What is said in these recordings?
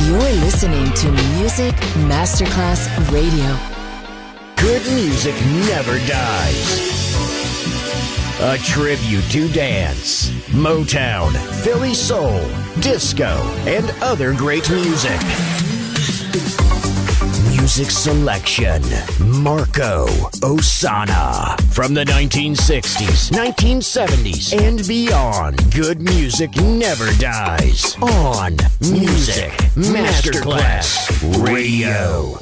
You're listening to Music Masterclass Radio. Good music never dies. A tribute to dance, Motown, Philly soul, disco, and other great music. Music selection, Marco Ossanna. From the 1960s, 1970s, and beyond, good music never dies. On Music Masterclass Radio.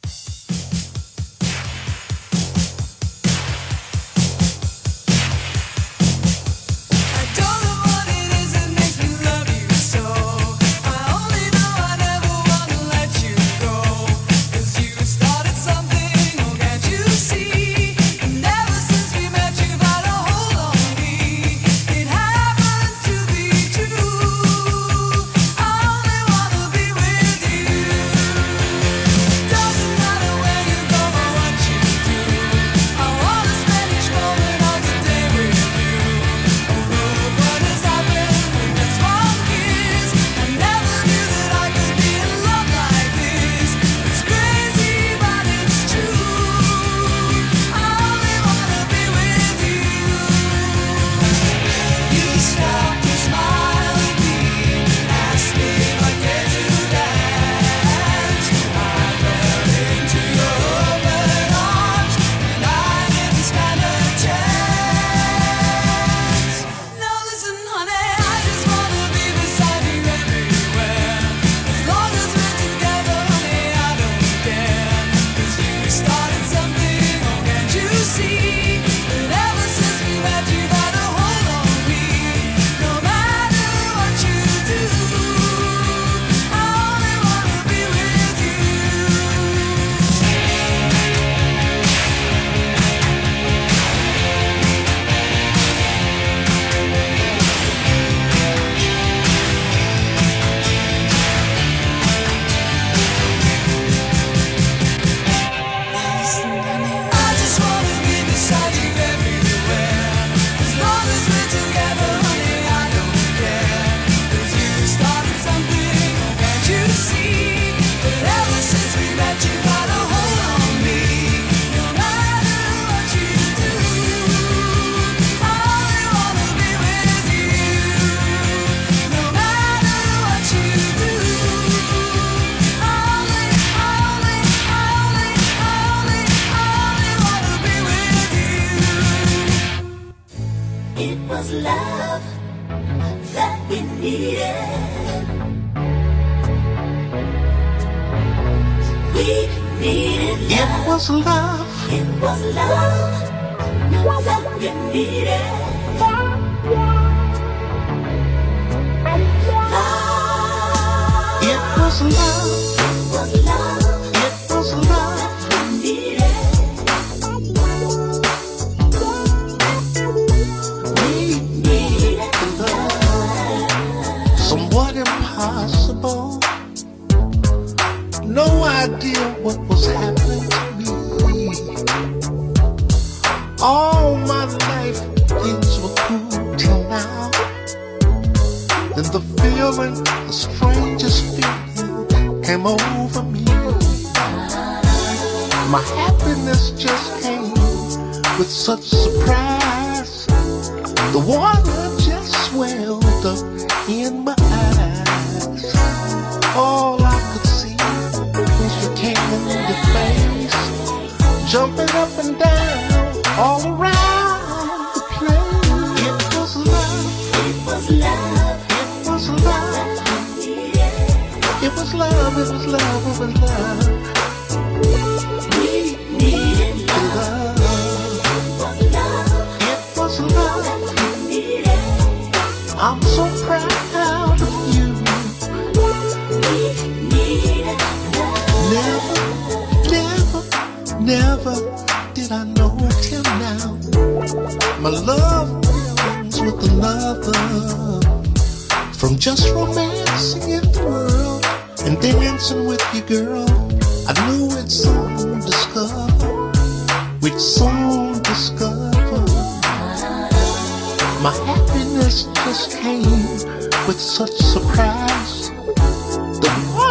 My happiness just came with such surprise. The one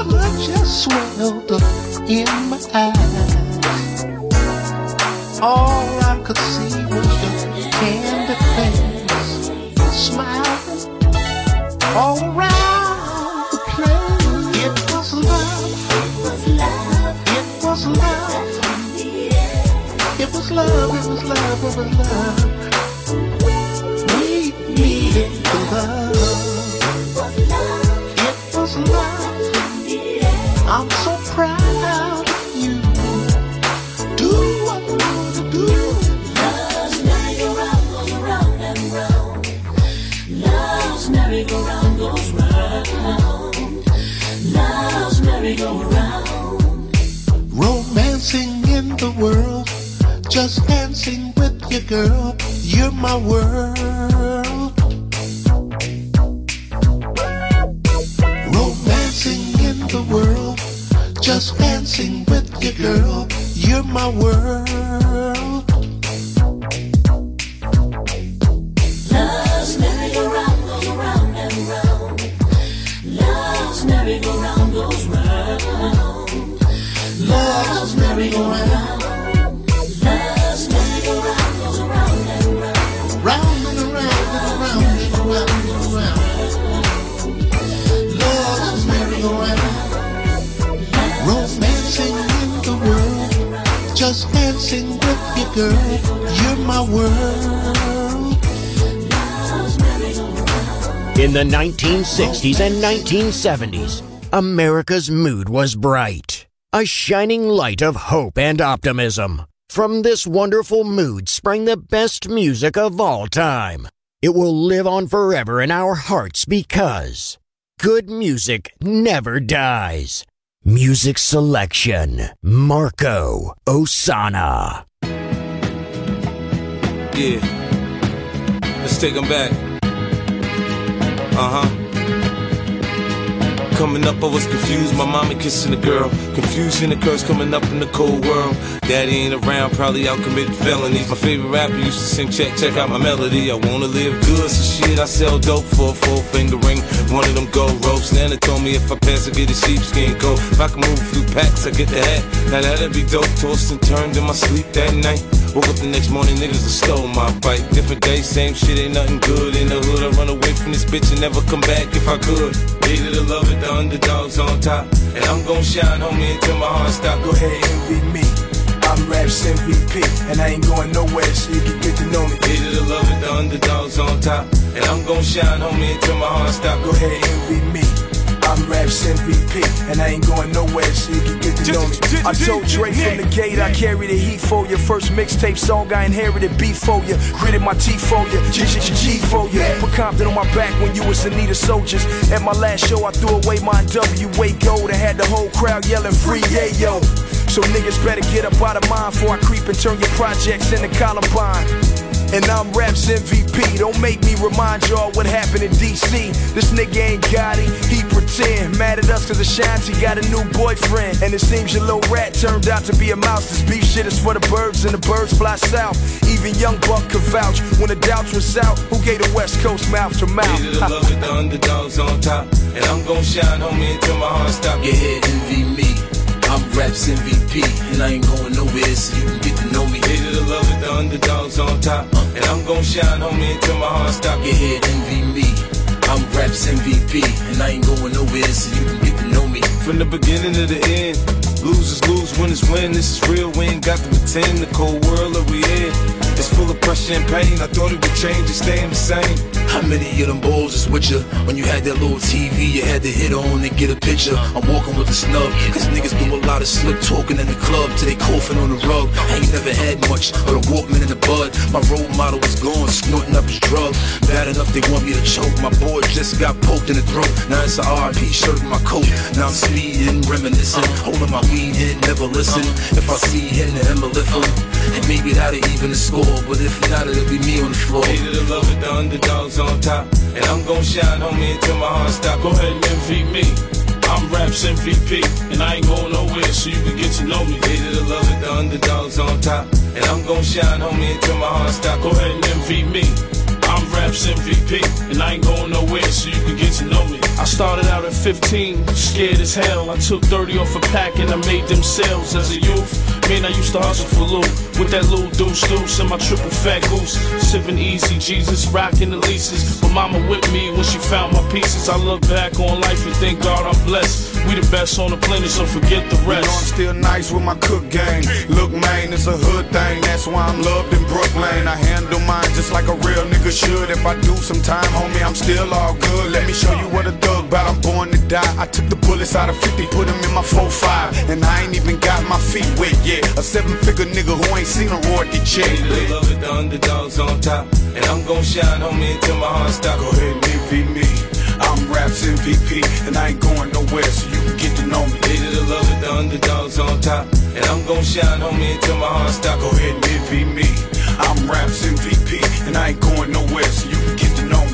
blood just swelled up in my eyes. All I could see was your candid face, smiling all around the place. It was love. It was love. It was love. It was love. It was love. We needed the love. It was love. I'm so proud of you. Do what you want to do. Love's merry-go-round goes round and round. Love's merry-go-round goes round. Love's merry-go-round. Romancing in the world, just dancing with your girl. You're my world. Romancing in the world, just dancing with your girl. You're my world. Love's merry-go-round goes round and round. Love's merry-go-round goes round. Love's merry-go-round. Love's merry-go-round goes round and round. Round and around and around and around and around. Love's merry-go-round. Romancing in the world, just dancing with your girl. You're my world. In the 1960s and 1970s, America's mood was bright. A shining light of hope and optimism. From this wonderful mood sprang the best music of all time. It will live on forever in our hearts because good music never dies. Music selection, Marco Ossanna. Yeah, let's take them back. Coming up, I was confused, my mommy kissing a girl. Confusion occurs coming up in the cold world. Daddy ain't around, probably out committing felonies. My favorite rapper used to sing, check out my melody. I wanna live good, so shit, I sell dope for a 4-finger ring. One of them gold ropes. Nana told me if I pass, I get a sheepskin coat. If I can move a few packs, I get the hat. Now that'd be dope, tossed and turned in my sleep that night. Woke up the next morning, niggas have stole my bike. Different day, same shit, ain't nothing good. In the hood, I run away from this bitch and never come back if I could. Hated to love it, the underdogs on top. And I'm gon' shine, homie, until my heart stop. Go ahead, envy me. I'm Raps MVP, and I ain't going nowhere, so you can get to know me. Hated to love it, the underdogs on top. And I'm gon' shine, homie, until my heart stop. Go ahead, envy me. I'm Raps MVP, and I ain't going nowhere, so you can get to know me. I told Dre from the gate, I carry the heat for you. First mixtape song, I inherited beef for you. Gritted my teeth for you, G for you. Put Compton on my back when you was in need of soldiers. At my last show, I threw away my NWA gold and had the whole crowd yelling free yayo. So niggas better get up out of mine before I creep and turn your projects into Columbine. And I'm Raps MVP, don't make me remind y'all what happened in DC. This nigga ain't got it, he pretend. Mad at us cause Ashanti got a new boyfriend. And it seems your little rat turned out to be a mouse. This beef shit is for the birds and the birds fly south. Even Young Buck could vouch when the doubts was out. Who gave the West Coast mouth to mouth? Hated to love it, the underdogs on top. And I'm gon' shine, homie, until my heart stop. Get ahead, envy me. I'm Raps MVP, and I ain't going nowhere, so you can get to know me. Hated to love it, the underdogs on top. And I'm gon' shine, homie, until my heart stop. Get ahead, envy me. I'm Raps MVP, and I ain't going nowhere, so you can get to know me. From the beginning to the end, losers lose, winners win. This is real, we ain't got to pretend. The cold world that we in, it's full of pressure and pain. I thought it would change, it's staying the same. How many of them balls is with you? When you had that little TV, you had to hit on and get a picture. I'm walking with a snub, cause niggas do a lot of slick talking in the club till they coughing on the rug. I ain't never had much, but a Walkman in the bud. My role model was gone, snorting up his drug. Bad enough they want me to choke. My boy just got poked in the throat. Now it's a RIP shirt in my coat. Now I'm speeding, reminiscing, holding my weed in, never listen. If I see him, then I'ma lift him. And maybe that'll even the score, but if not, it'll be me on the floor. Hated to love it, the underdogs on top. And I'm gon' shine, homie, until my heart stop. Go ahead and envy me. I'm Raps MVP, and I ain't going nowhere, so you can get to know me. Hated to love it, the underdogs on top. And I'm gon' shine, homie, until my heart stop. Go ahead and envy me. I'm Raps MVP, and I ain't going nowhere, so you can get to know me. I started out at 15, scared as hell. I took 30 off a pack and I made them sales as a youth. Man, I used to hustle for loot with that little deuce and my triple fat goose. Sipping easy, Jesus, rocking the leases. But mama with me when she found my pieces. I look back on life and thank God I'm blessed. We the best on the planet, so forget the rest. You know I'm still nice with my cook game. Look, man, it's a hood thing. That's why I'm loved in Brooklyn. I handle mine just like a real nigga should. If I do some time, homie, I'm still all good. Let me show you what a thug bout. I'm born to die. I took the bullets out of 50, put them in my 4-5. And I ain't even got my feet wet yet. A 7-figure nigga who ain't seen a royalty check. They love it, the underdogs on top. And I'm gon' shine, homie, until my heart stop. Go ahead and envy me. I'm Raps MVP, and I ain't going nowhere, so you can get to know me. They that love it, the underdogs on top. And I'm gon' shine, homie, until my heart stop. Go ahead and envy me. I'm Raps MVP, and I ain't going nowhere, so you can get to know me.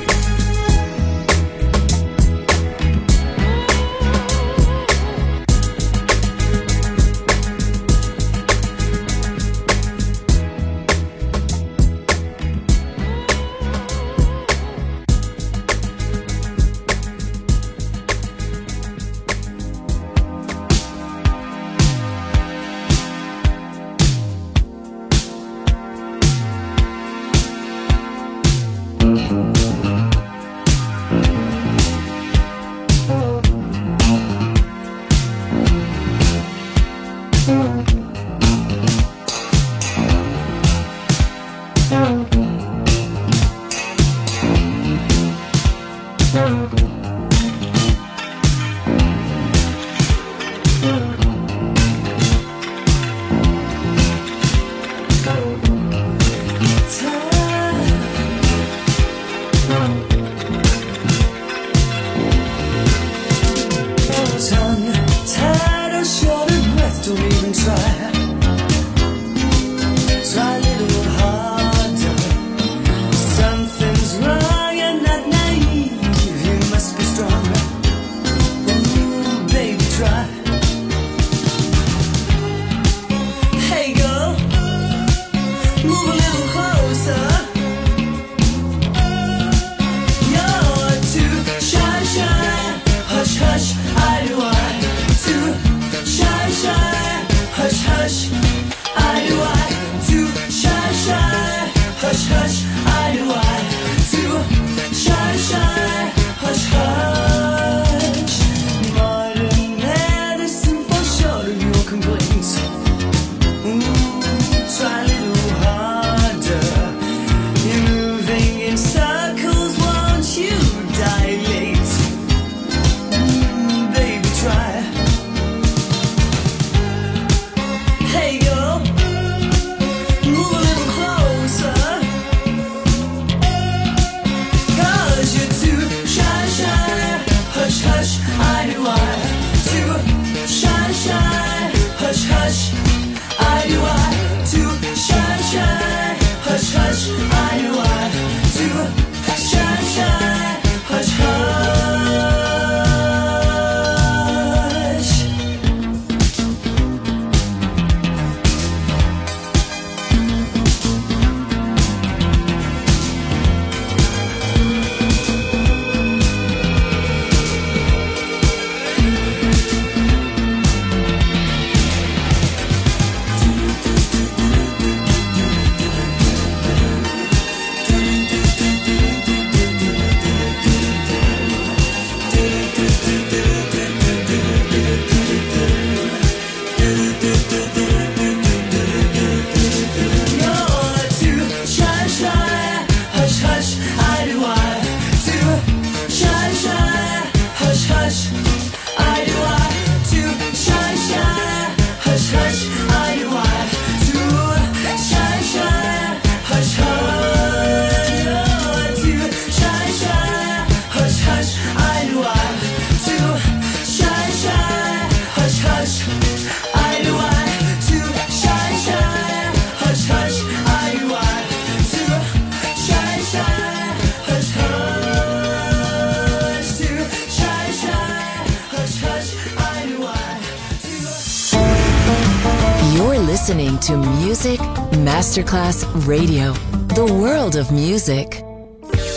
Listening to Music Masterclass Radio, the world of music.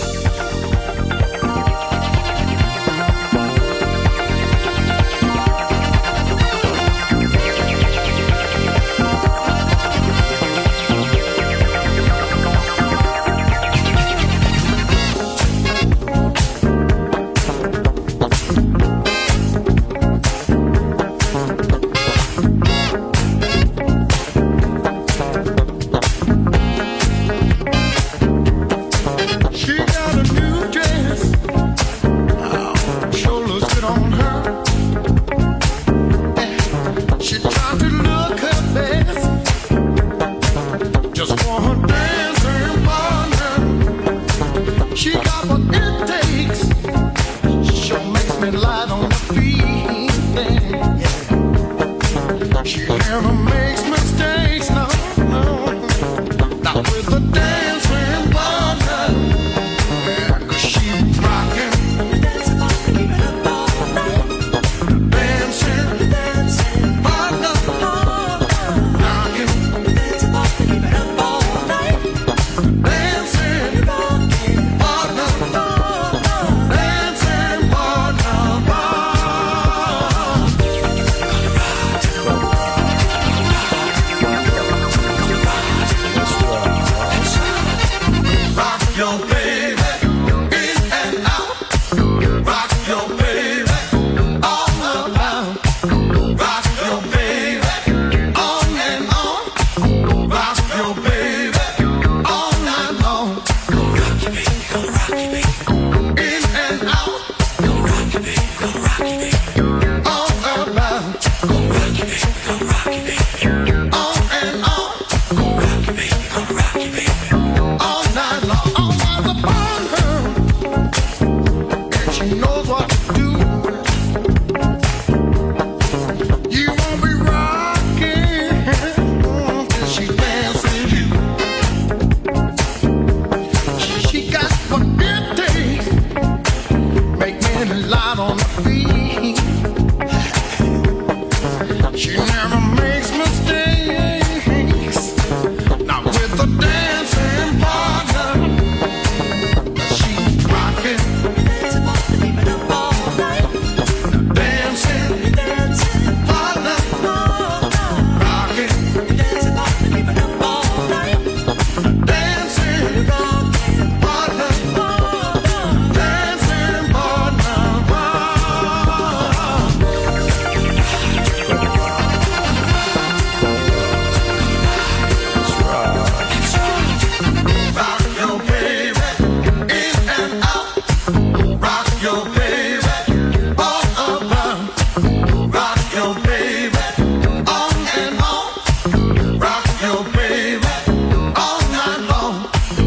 on her feet. She never makes mistakes, no, no. Not with the dancing partner. Yeah, 'cause she rockin'. Dancing partner, keep it up all night. Dancing partner, rockin'. Dancing partner, keep it up all night. Dancing partner, dancing partner, rock your baby in and out. Rock your baby all around. Rock your baby on and on. Rock your baby all night long. Rock your baby, go rock your baby. In and out. Go rock your baby, go rock your baby. All around. Go rock your baby, go rock your baby. On and on. Go rock your baby, go rock your baby. All night long. All eyes upon her, and she knows what to do. You won't be rocking till she dances you. She got what it takes, make men light on her feet. She never makes mistakes, not with the dancing partner. She's rocking. Dancing partner, keep it up all night. Dancing partner, rocking. Dancing partner, keep it up all night. Dancing partner, dancing partner, rock your baby in and out. Rock your baby all around. Rock your baby on and on. Rock your baby all night long.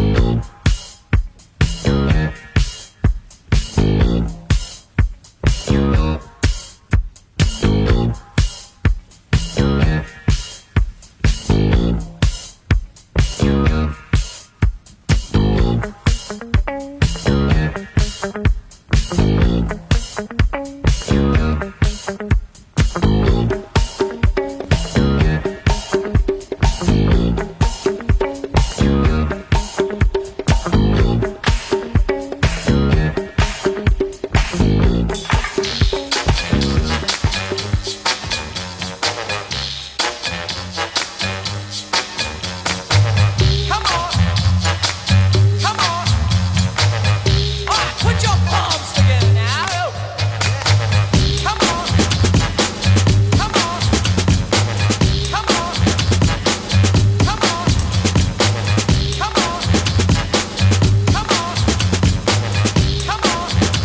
Come on, come on. All right, put your palms together now. Come on, come on, come on, come on, come on, come on, come on.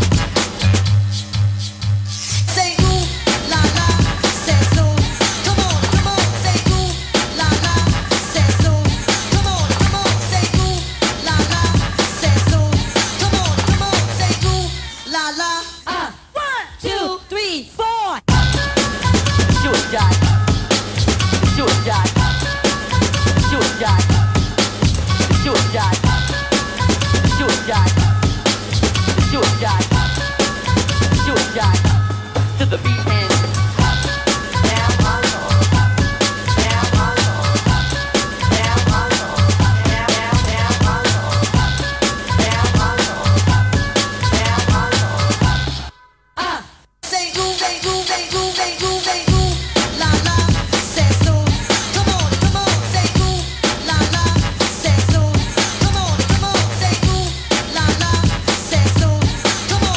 Say ooh la la, say so. Come on, say ooh la la, say so. Come on, say ooh la la, say so. Come on, say ooh la la. 1, 2, 3, 4. Do it, Jack. Do it, Jack. Do it, Jack. Do it, Jack. Do it, Jack. Do it, Jack. Do it, Jack. To the beat and down my Lord. Down my Lord. Down my Lord. Down my Lord. Down my Lord. Down my Lord. Say ooh, say ooh, say ooh, say ooh, say ooh la la, say so. Come on, say ooh la la, say so. Come on, say ooh la la, say so. Come on,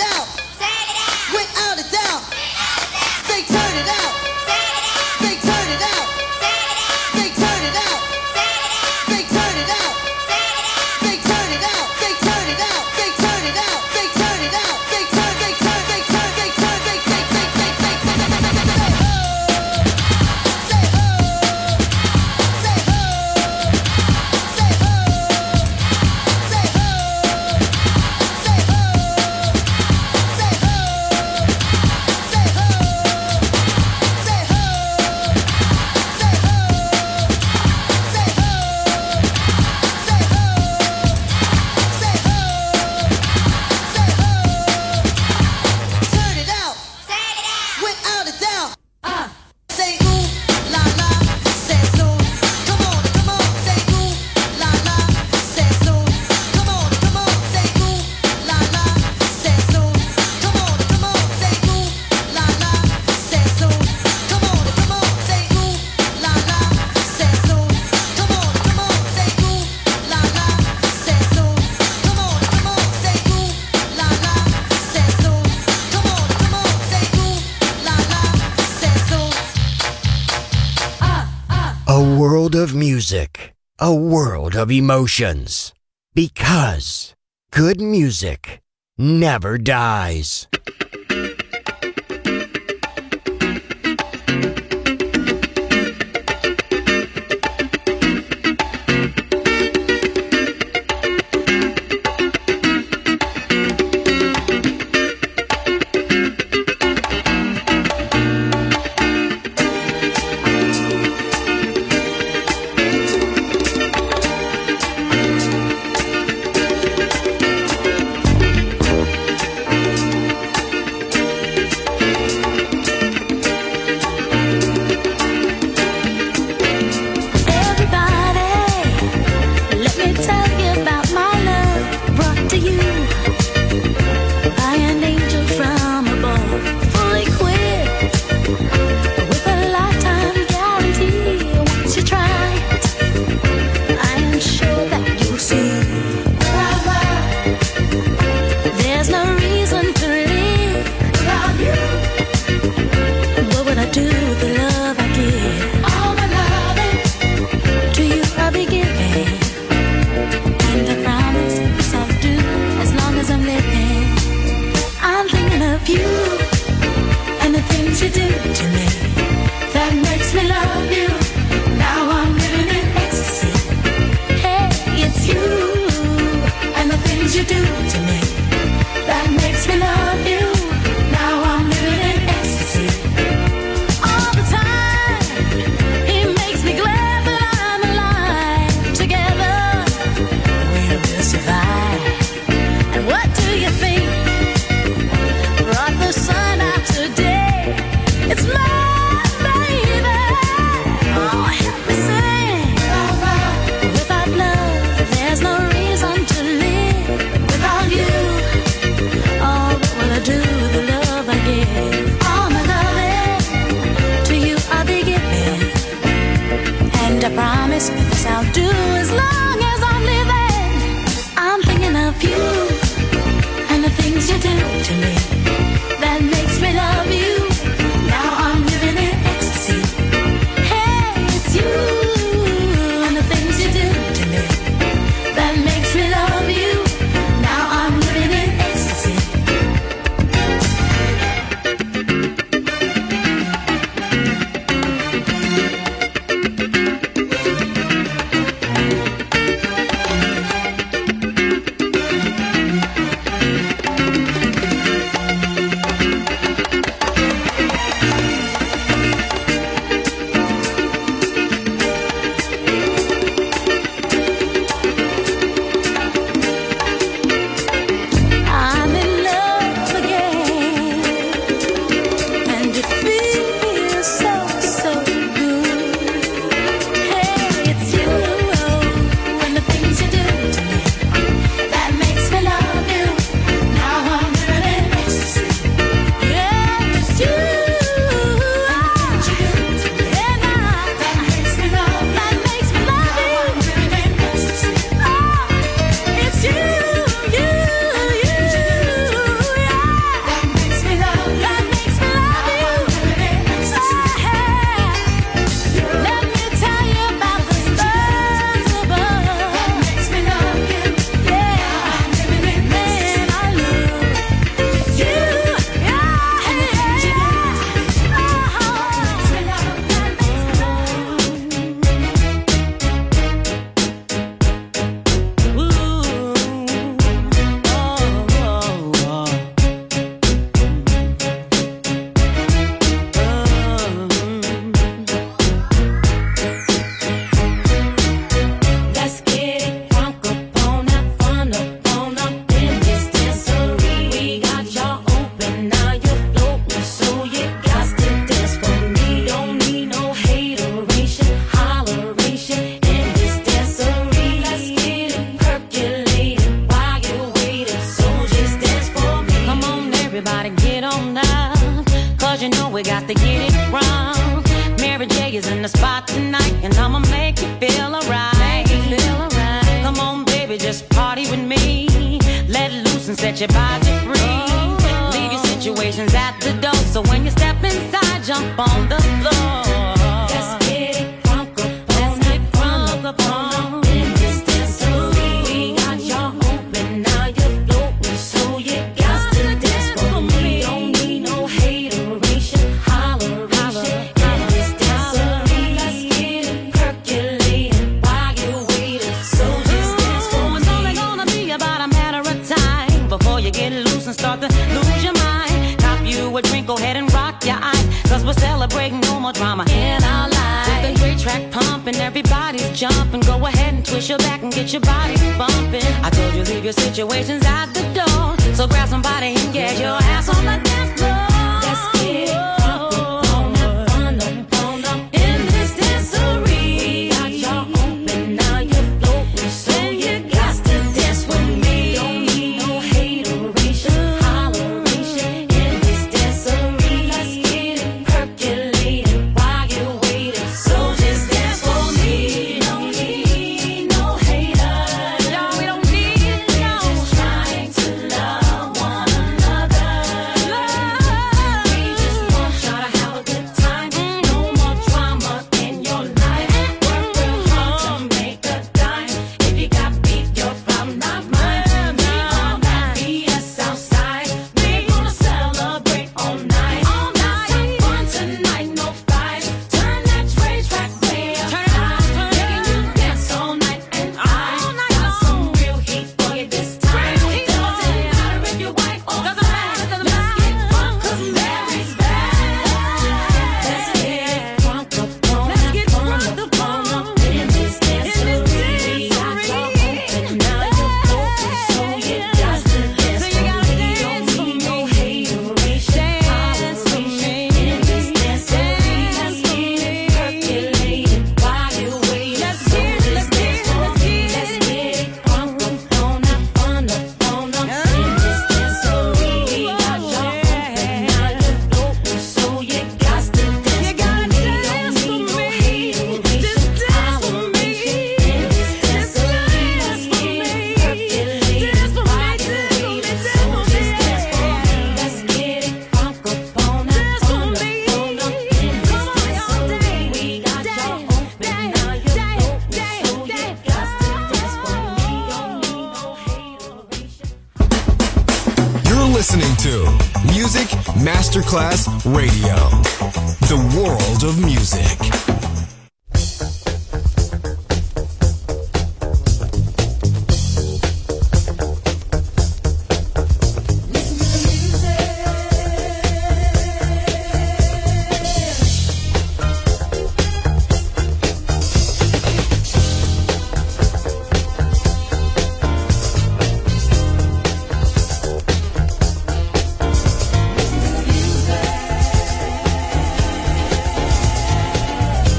out. Without a doubt. Say turn it out. Say turn it out. Say turn it out. Say turn it out. Say turn it out. Say turn it out. Say turn it out. Say turn it out. Say turn. Say turn. Say turn. Say turn. Say say say say say A world of music, a world of emotions. Because good music never dies. everybody get on up, cause you know we got to get it wrong. Mary J is in the spot tonight, and I'ma make you feel alright. Come on, baby, just party with me. Let loose and set your body free. Leave your situations at the door, so when you step inside, jump on the floor. Let's get it crunk up, let's get crunk up on in this dancery. We got y'all open, now you're floating, so you got to dance for me. Don't need no hateration, holleration in this dancery. Let's get it percolating while you're waiting, so just dance for me. It's only gonna be about a matter of time before you get loose and start to lose your mind. Cop you a drink, go ahead and rock your eyes, cause we're celebrating no more drama in our lives. With a great track pumping, everybody's jumping. Go ahead and twist your back and get your body bumping. I told you leave your situations at the door, so grab somebody and get your ass on the dance floor. Let's get it crunk up, fun up in this dancery. We got y'all open, now you're floating, so you got to dance with me. Don't need no hateration, holleration in this dancery. Let's get it percolating while you're waiting, so just dance for me. Don't need no haters, no, we don't need no. We're just trying to love one another. We just want y'all to have a good time. No more drama in your life. Work real hard to make a dime. If you got beef, your problem, not mine. We all got BS outside. We gonna celebrate all night. Let's have fun tonight, no fights. Turn that track way up high. Making you dance all night, and I got some real heat for you this time. Doesn't matter if you're white or black. Let's get crunk 'cause Mary's back. Let's get crunk up on up in this dancery. We got y'all open, now you're floating, so you got to dance for me. Don't need no hateration, holleration in this dancery. Let's get it percolating while you're waiting, so just dance for me. Let's get it crunk up on up in this dancery. We got y'all open, now you're floating, so you got to dance for me. Don't need no hateration, holleration in this dancery. Let's get it percolating while you're waiting, so just dance for me. Let's get it crunk up on up in this dancery. We got y'all open, now you're floating, so you got to dance for me. Don't need no hateration. You're listening to Music Masterclass Radio, the world of music. Listen to the music.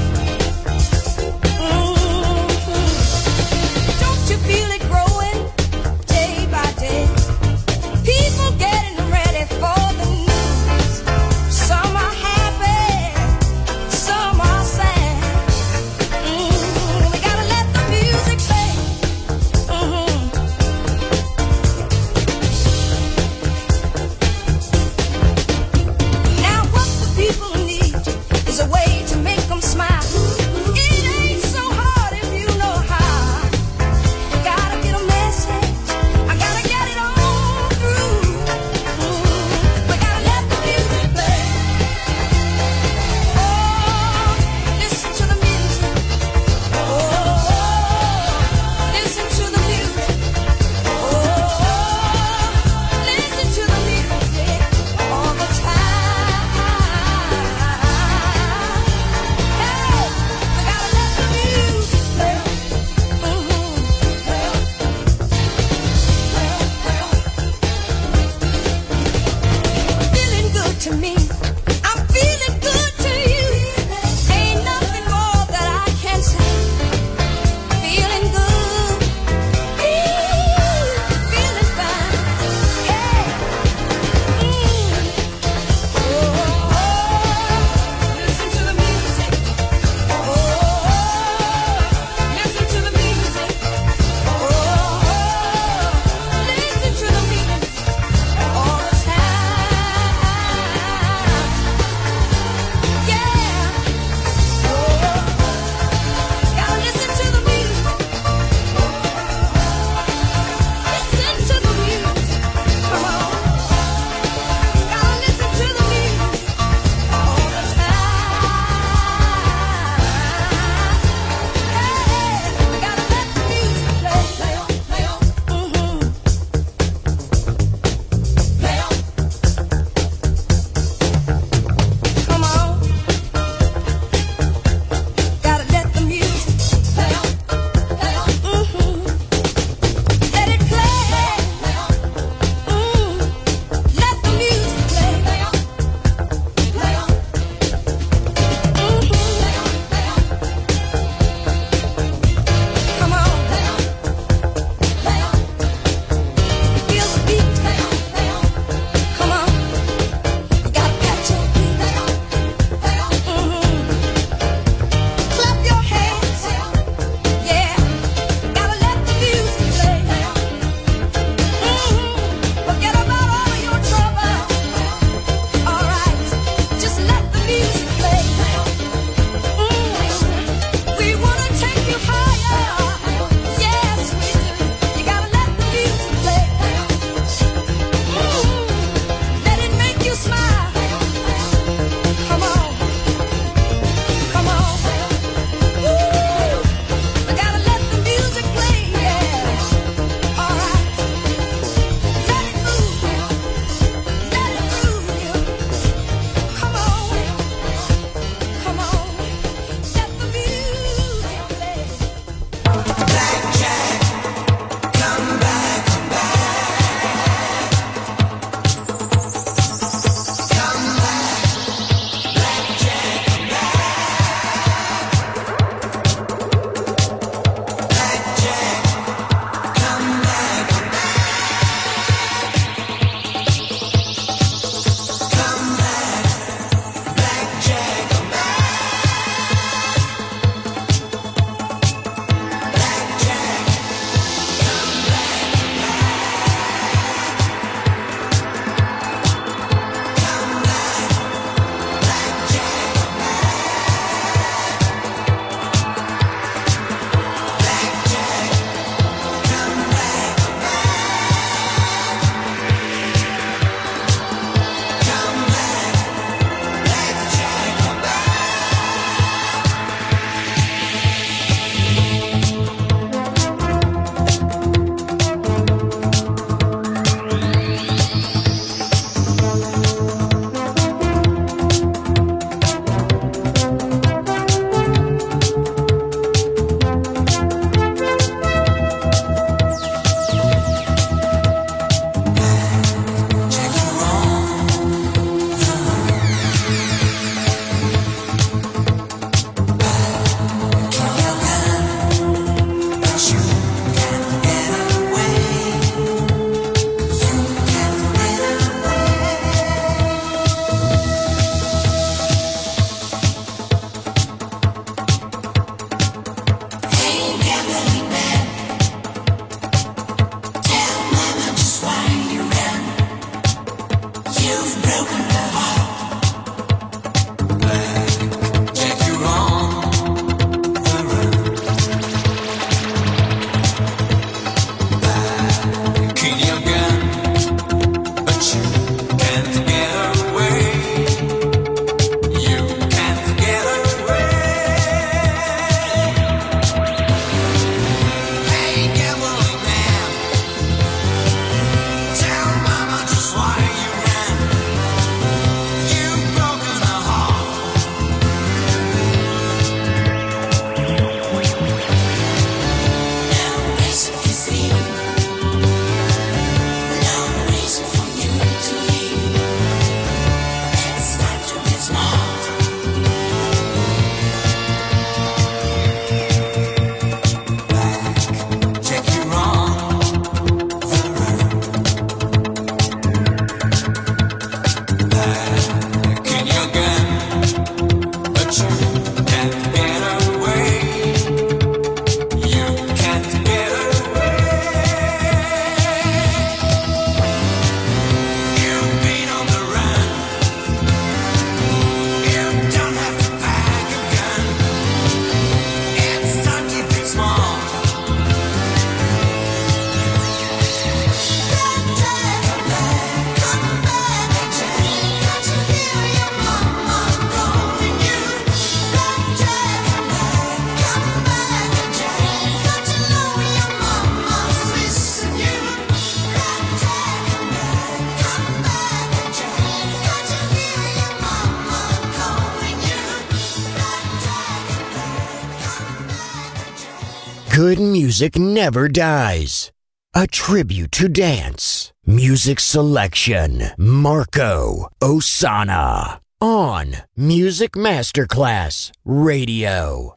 Good music never dies. A tribute to dance. Music selection. Marco Ossanna. On Music Masterclass Radio.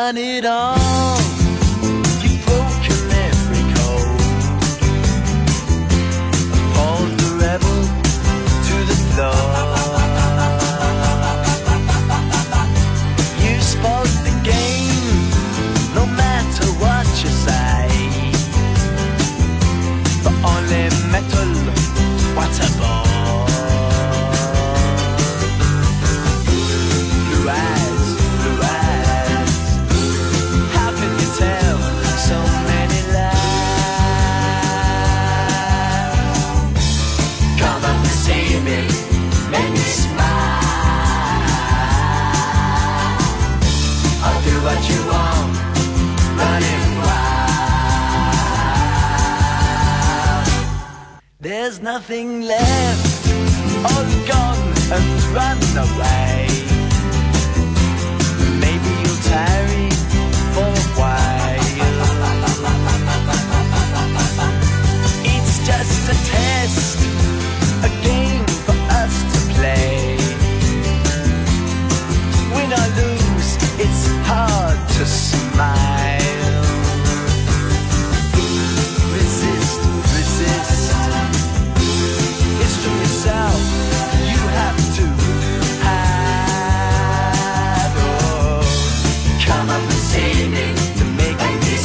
done it all. You've broken every code. Pulled the rebel to the floor. You spoke the game, no matter what you say. The only metal, what a ball. Blue eyes, how can you tell so many lies? Come up and see me, make me smile. I'll do what you want, running wild. There's nothing left, all gone and run away. Maybe you'll tarry for a while. It's just a test, a game for us to play. Win or lose, it's hard to smile. Resist, resist. It's from yourself you have to hide. Oh, come up and see me to make me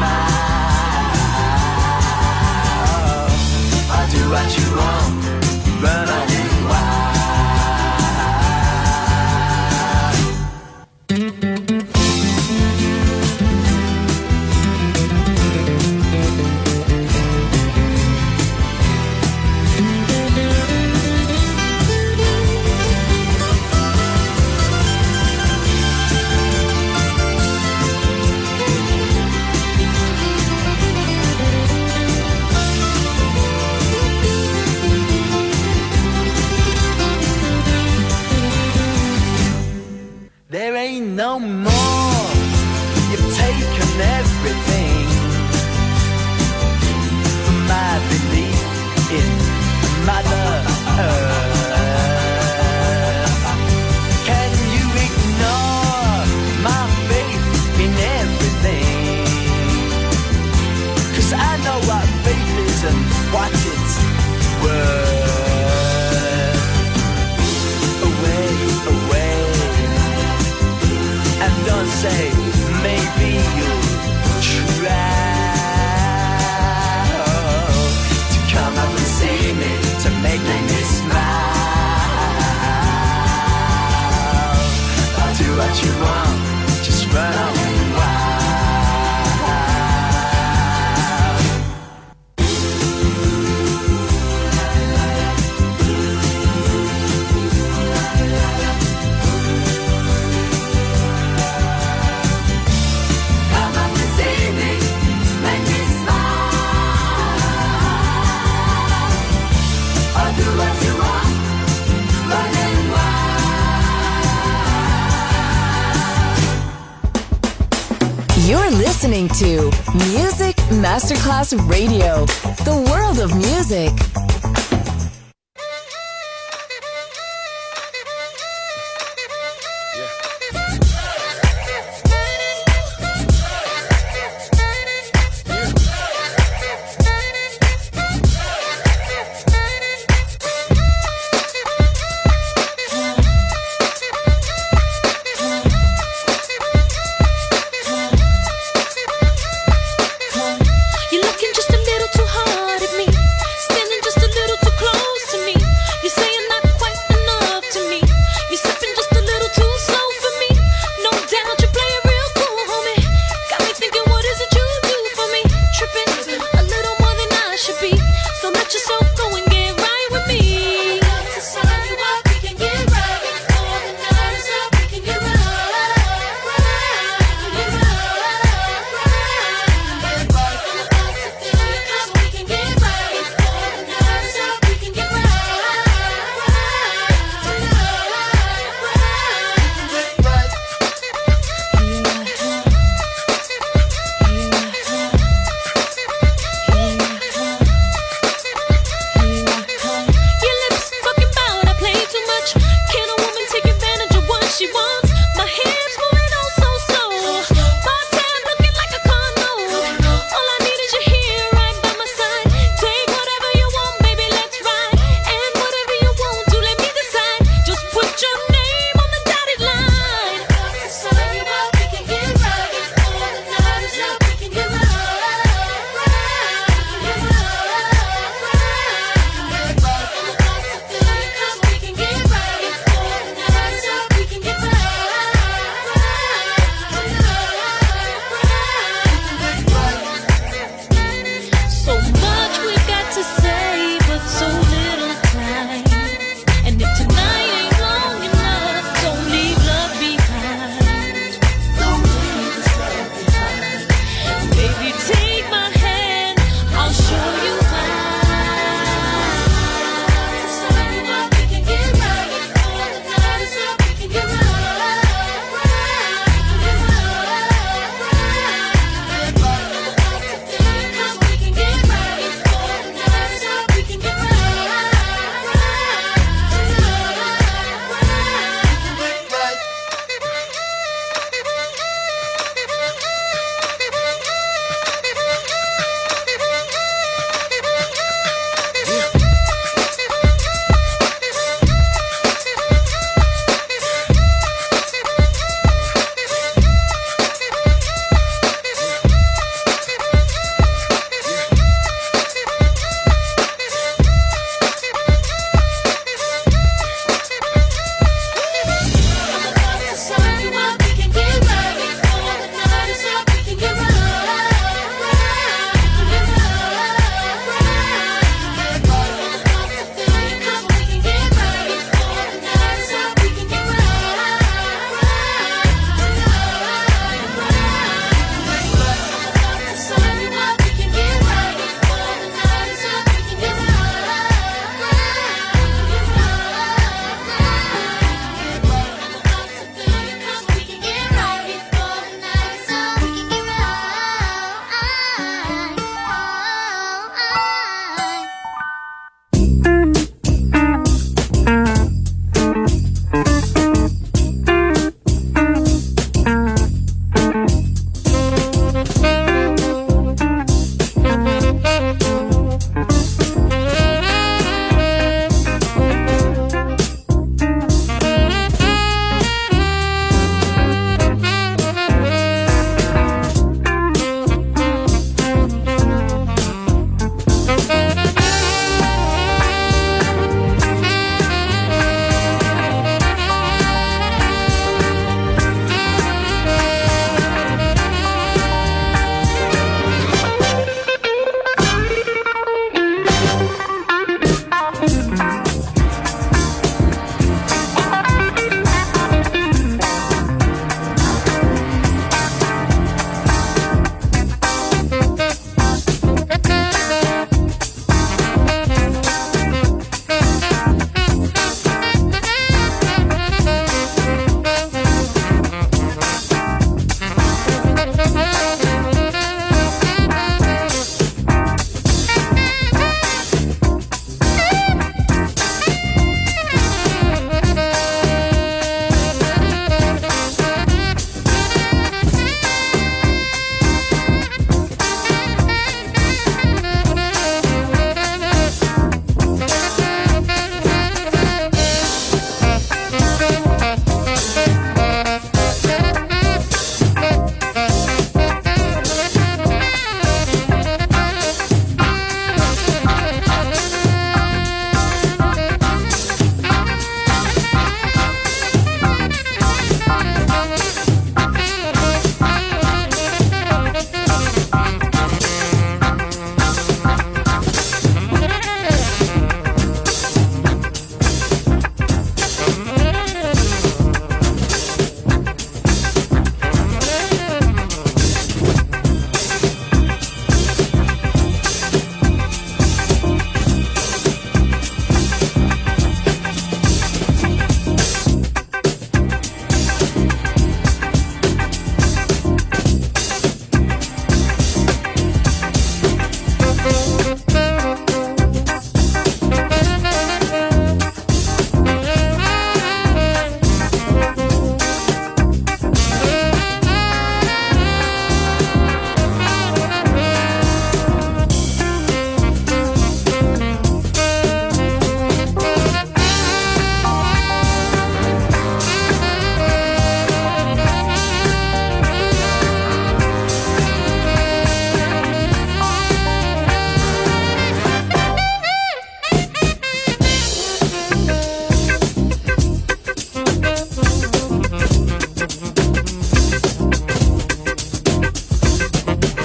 smile. I'll do what you want, run on it wild. There ain't no more. You've taken everything from my belief in Mother Earth. Can you ignore my faith in everything? 'Cause I know what faith is and what it's worth. Away, away. And don't say, maybe you'll try to come up and see me, to make me smile. I'll do what you want, just run on wild. Come up and see me, make me smile. I'll do what you want, running wild. You're listening to Music Masterclass Radio, the world of music. You're looking just a little too hard at me, standing just a little too close to me. You're saying not quite enough to me. You're sipping just a little too slow for me. No doubt you're playing real cool, homie. Got me thinking, what is it you do for me? Tripping a little more than I should be. So let yourself go and get right with me. To sign you up, we can get right. All the night is up, we can get right.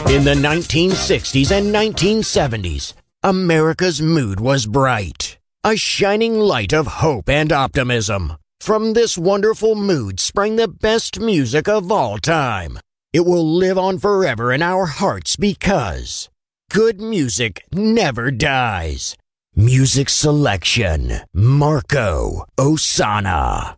In the 1960s and 1970s, America's mood was bright. A shining light of hope and optimism. From this wonderful mood sprang the best music of all time. It will live on forever in our hearts because good music never dies. Music selection, Marco Ossanna.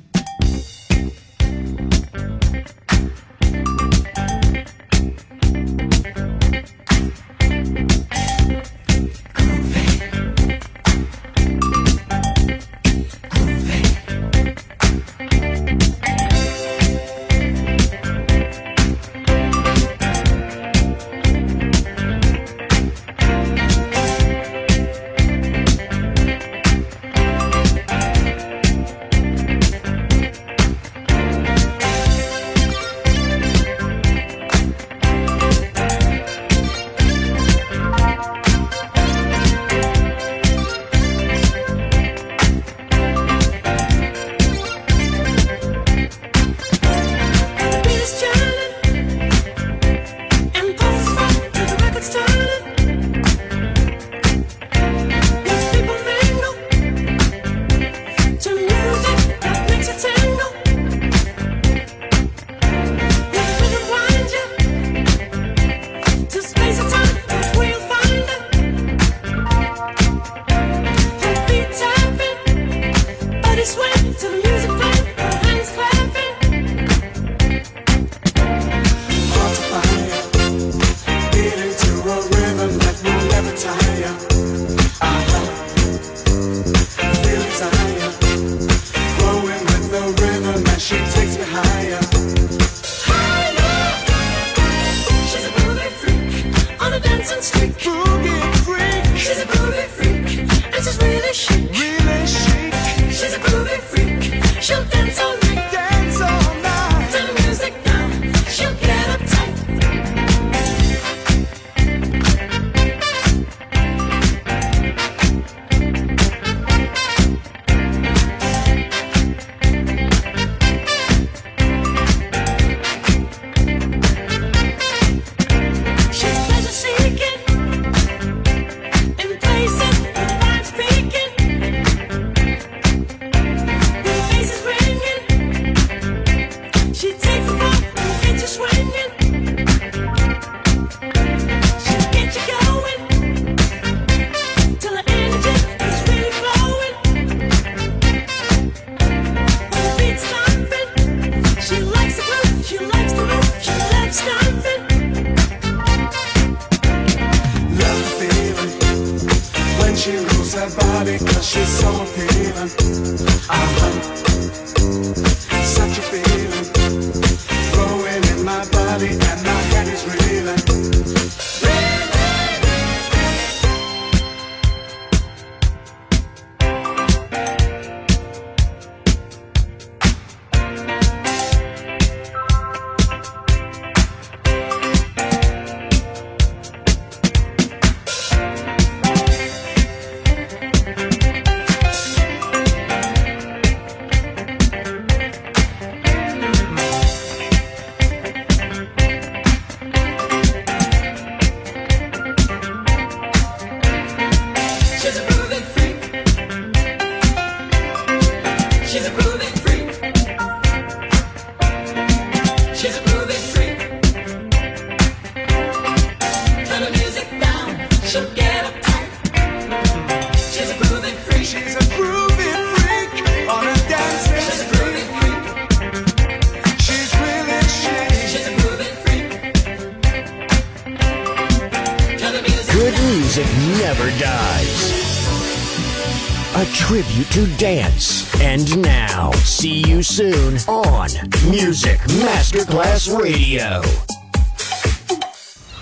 A tribute to dance. And now, see you soon on Music Masterclass Radio.